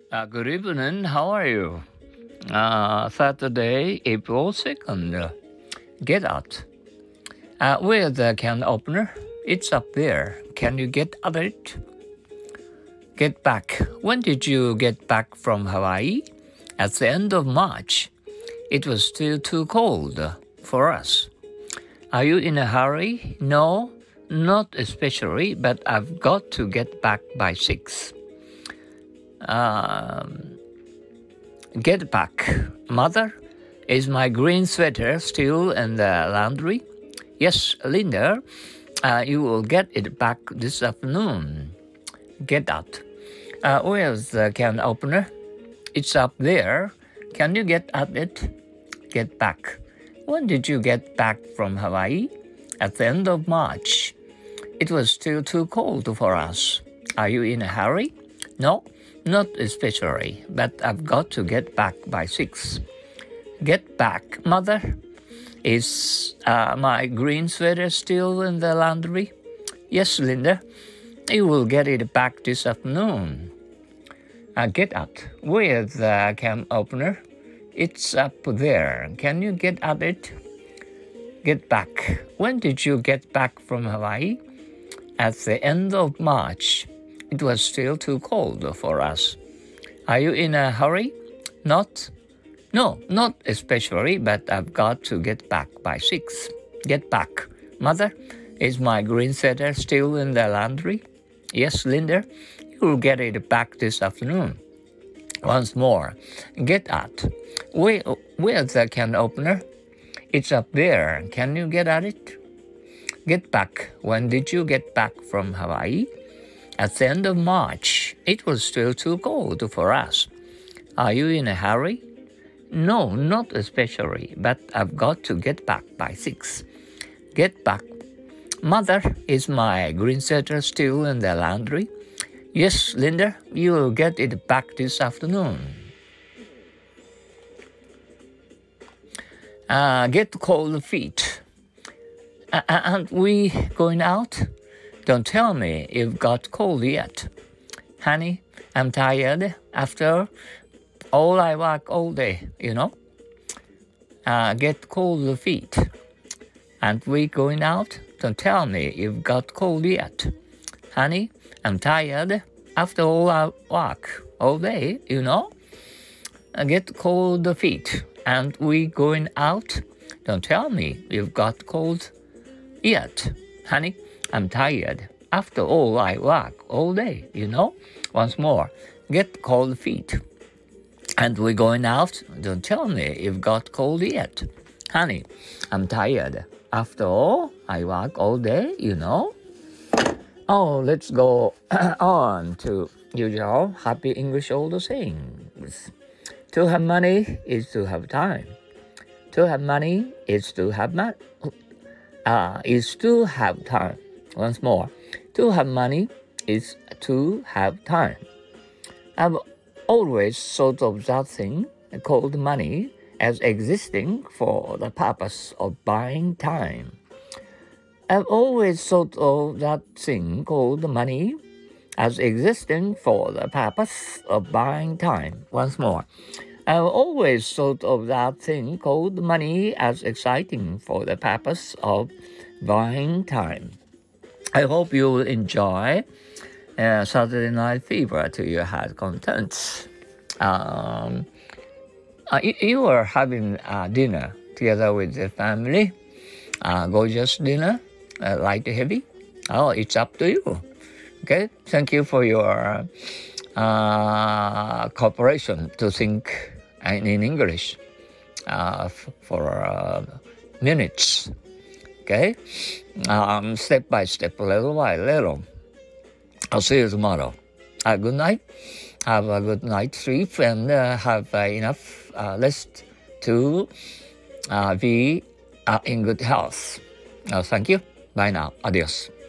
Good evening. How are you? Saturday, April 2nd. Get out. Where's the can opener? It's up there. Can you get at it? Get back. When did you get back from Hawaii? At the end of March. It was still too cold for us. Are you in a hurry? No, not especially, but I've got to get back by 6. Get back. Mother, is my green sweater still in the laundry? Yes, Linda, you will get it back this afternoon. Get out. Where's the can opener? It's up there. Can you get at it? Get back. When did you get back from Hawaii? At the end of March. It was still too cold for us. Are you in a hurry? No, not especially, but I've got to get back by 6. Get back, Mother. Is my green sweater still in the laundry? Yes, Linda. You will get it back this afternoon. Get out. Where's the can opener? It's up there. Can you get at it? Get back. When did you get back from Hawaii? At the end of March. It was still too cold for us. Are you in a hurry? No, not especially, but I've got to get back by 6. Get back. Mother, is my green sweater still in the laundry? Yes, Linda. You'll get it back this afternoon. Once more. Get out. Where's the can opener? It's up there. Can you get at it? Get back. When did you get back from Hawaii? At the end of March. It was still too cold for us. Are you in a hurry? No, not especially, but I've got to get back by 6. Get back. Mother, is my green sweater still in the laundry? Yes, Linda, you'll get it back this afternoon. Get cold feet. Aren't we going out? Don't tell me you've got cold yet. Honey, I'm tired after all I work all day, Get cold feet. Aren't we going out? Don't tell me you've got cold yet. Honey, I'm tired after all I work all day, Get cold feet. Aren't we going out? Don't tell me you've got cold yet. Honey, I'm tired after all I work all day, Once more, get cold feet. And we're going out? Don't tell me you've got cold yet. Honey, I'm tired after all I work all day, Oh, let's go on to usual happy English old sayings. To have money is to have time. To have money is to have time. Once more. To have money is to have time. I've always thought of that thing called money as existing for the purpose of buying time. I've always thought of that thing called money as existing for the purpose of buying time. Once more. I've always thought of that thing called money as exciting for the purpose of buying time. I hope you will enjoy Saturday Night Fever to your heart contents. You are having dinner together with the family. Gorgeous dinner, light or heavy. Oh, it's up to you. Okay, thank you for your cooperation to think in English for minutes. Okay, step by step, little by little. I'll see you tomorrow. Good night. Have a good night sleep and have enough rest to be in good health. Thank you. Bye now. Adios.